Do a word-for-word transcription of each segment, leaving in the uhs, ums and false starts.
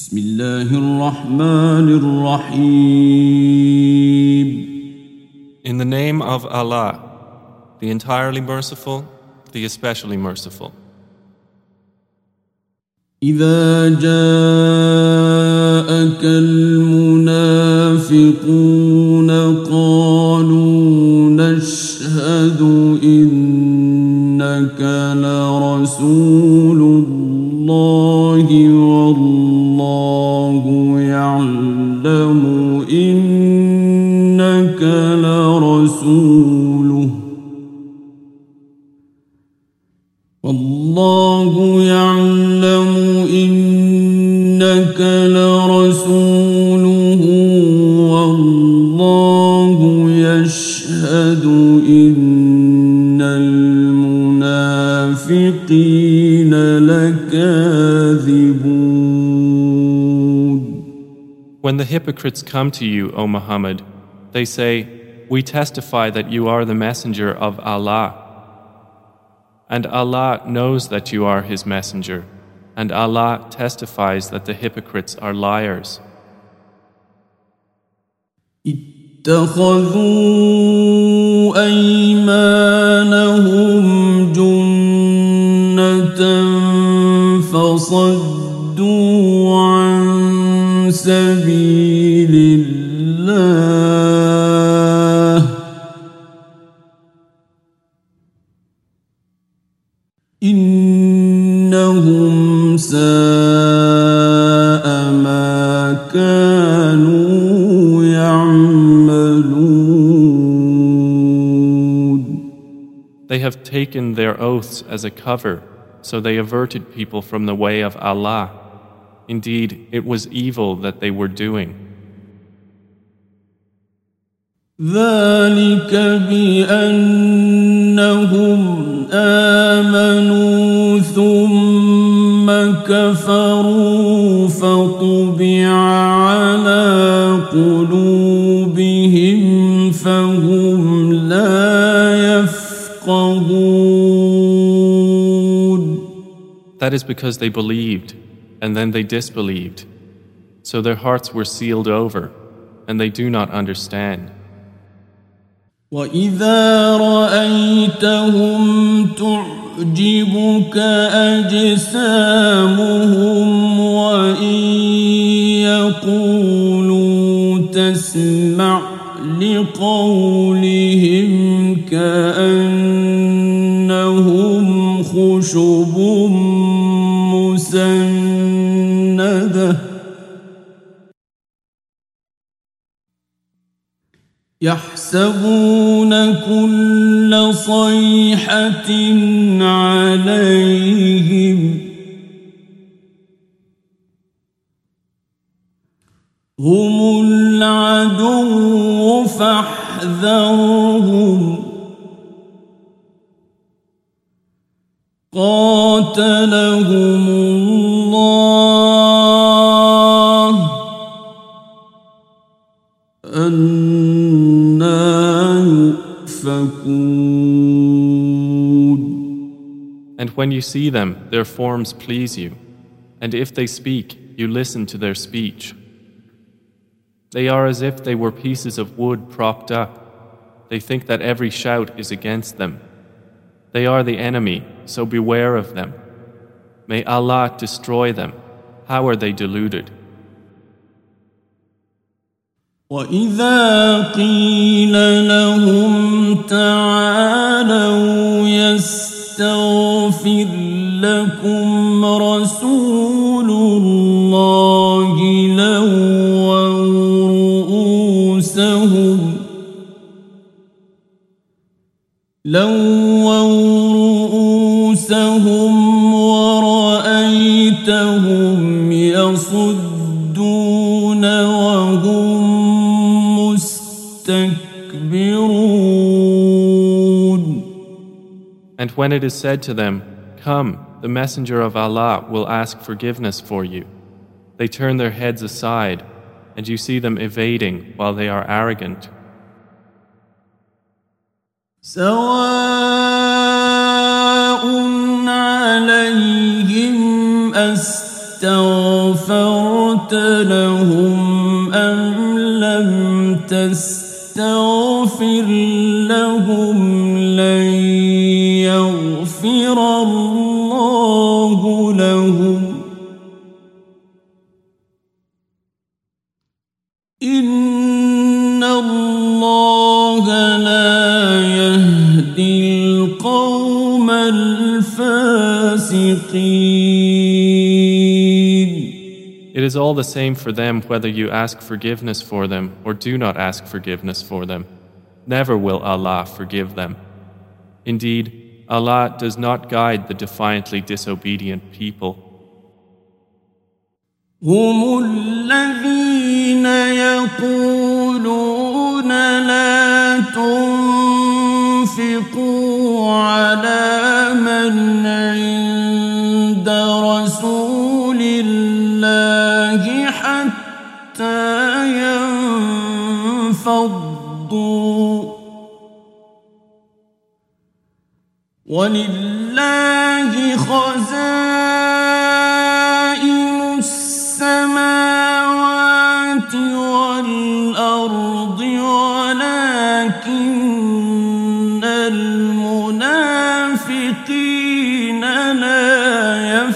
بسم الله الرحمن الرحيم. In the name of Allah, the entirely merciful, the especially merciful. إذا جاءك المنافقون قالوا نشهد إنك لرسول الله والله يعلم إنك لرسوله والله يعلم إنك لرسوله والله يشهد إن المنافقين لكاذبون. When the hypocrites come to you, O Muhammad, they say, "We testify that you are the messenger of Allah." And Allah knows that you are His messenger, and Allah testifies that the hypocrites are liars. اتخذوا أيمانهم جنة فصدوا عن سبيل الله إنهم ساء ما كانوا يعملون. They have taken their oaths as a cover, so they averted people from the way of Allah. Indeed, it was evil that they were doing. ذلك بأنهم آمنوا ثم كفروا فطبع على قلوبهم فهم لا يفقهون. That is because they believed, and then they disbelieved. So their hearts were sealed over, and they do not understand. وَإِذَا رَأَيْتَهُمْ تُعْجِبُكَ أَجْسَامُهُمْ وَإِنْ يَقُولُوا تَسْمَعْ لِقَوْلِهِمْ كَأَنَّهُمْ خُشُبٌ مُّسَنَّدَةٌ يحسبون كل صيحة عليهم هم العدو فاحذرهم قاتلهم الله أن And when you see them, their forms please you, and if they speak, you listen to their speech. They are as if they were pieces of wood propped up. They think that every shout is against them. They are the enemy, so beware of them. May Allah destroy them. How are they deluded? وَإِذَا قِيلَ لَهُمْ تَعَالَوْا يَسْتَغْفِرْ لَكُمْ رَسُولُ اللَّهِ لَوَّوْا رُءُوسَهُمْ لَوَّوْا رُءُوسَهُمْ وَرَأَيْتَهُمْ يَصُدُّونَ وَهُمْ And when it is said to them, "Come, the Messenger of Allah will ask forgiveness for you," they turn their heads aside, and you see them evading while they are arrogant. سواء عليهم أستغفرت أستغفرت لهم أم لم تستغفر لهم لن يغفر الله لهم إن الله لا يهدي القوم الفاسقين. It is all the same for them whether you ask forgiveness for them or do not ask forgiveness for them. Never will Allah forgive them. Indeed, Allah does not guide the defiantly disobedient people. هم الذين يقولون لا تنفقوا على من عند رسول الله حتى ينفضوا ولله خزائن السماوات والأرض ولكن المنافقين لا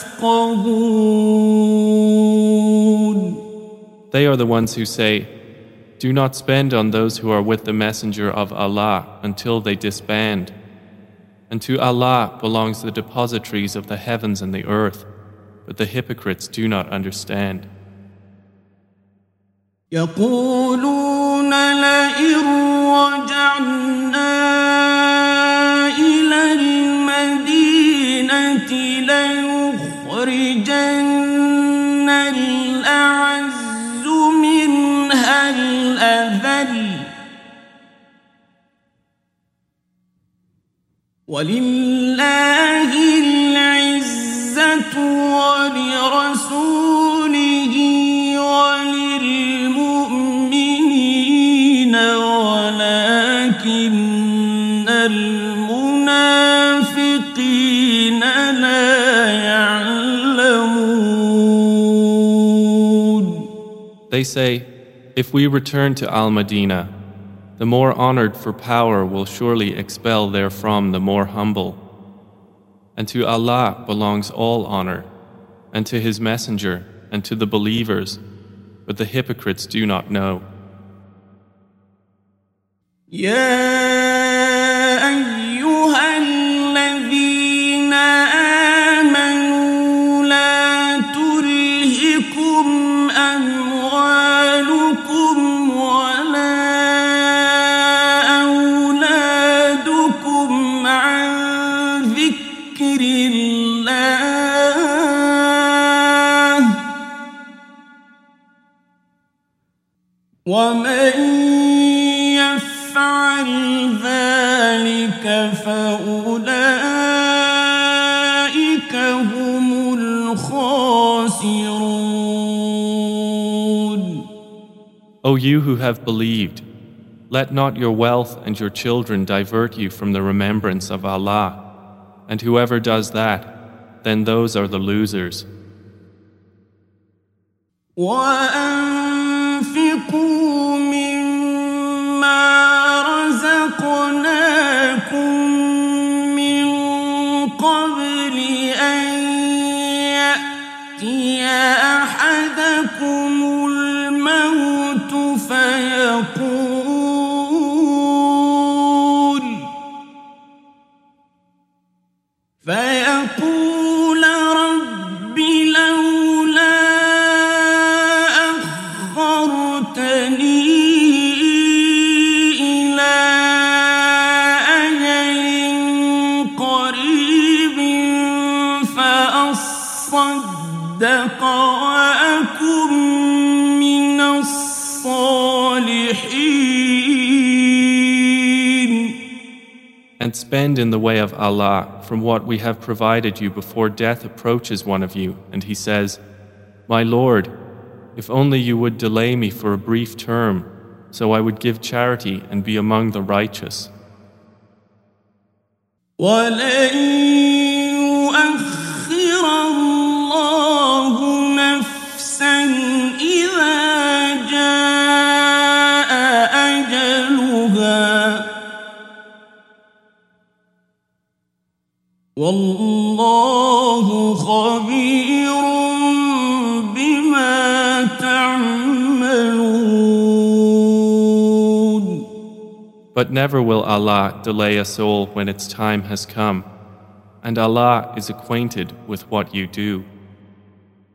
يفقهون. They are the ones who say, "Do not spend on those who are with the Messenger of Allah until they disband. And to Allah belongs the depositories of the heavens and the earth, but the hypocrites do not understand." يقولون لئن رجعنا إلى المدينة ليخرجن الأعز منها الأذل ولله العزة ولرسوله وللمؤمنين ولكن المنافقين لا يعلمون. They say, "If we return to Al-Madinah, the more honored for power will surely expel therefrom the more humble. And to Allah belongs all honor, and to His Messenger, and to the believers, but the hypocrites do not know." يا أيها الذين آمنوا لا تلهكم أموالكم ولا أولادكم عن ذكر الله ومن يفعل ذلك فأولئك هم الخاسرون. O you who have believed, let not your wealth and your children divert you from the remembrance of Allah, and whoever does that, then those are the losers. وأنفقوا مما رزقناكم من قبل أن يأتي أحدكم الموت فيقول فيقول رب لولا أخرتني إلى أجل قريب فأصدق وأكن من الصالحين. And spend in the way of Allah from what we have provided you before death approaches one of you, and he says, "My Lord, if only you would delay me for a brief term, so I would give charity and be among the righteous." ولن يؤخر الله والله خبير بما تعملون. But never will Allah delay a soul when its time has come, and Allah is acquainted with what you do.